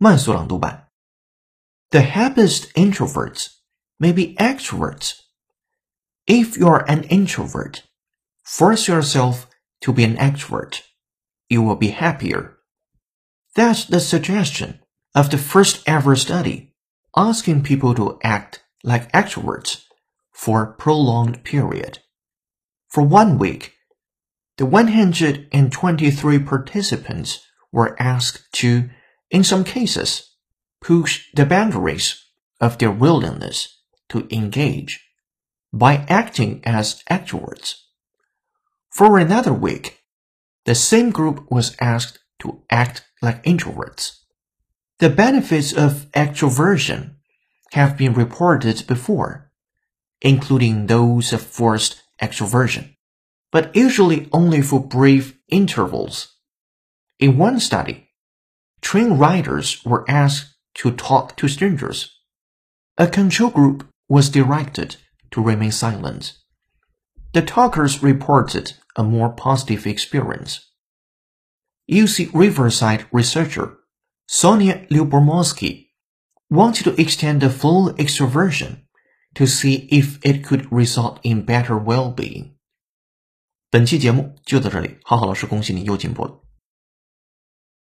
慢速朗读版 The happiest introverts may be extroverts. If you're an introvert, force yourself to be an extrovert. You will be happier. That's the suggestion of the first ever study, asking people to act like extroverts for a prolonged period. For 1 week, the 123 participants were asked to, in some cases, push the boundaries of their willingness to engage by acting as extroverts. For another week, the same group was asked to act like introverts. The benefits of extroversion have been reported before, including those of forced extroversion, but usually only for brief intervals. In one study, train riders were asked to talk to strangers. A control group was directed to remain silent. The talkers reported a more positive experience. UC Riverside researcher Sonia Lyubomirsky wanted to extend the full extroversion to see if it could result in better well-being. 本期节目就到这里，浩浩老师恭喜你又进步了。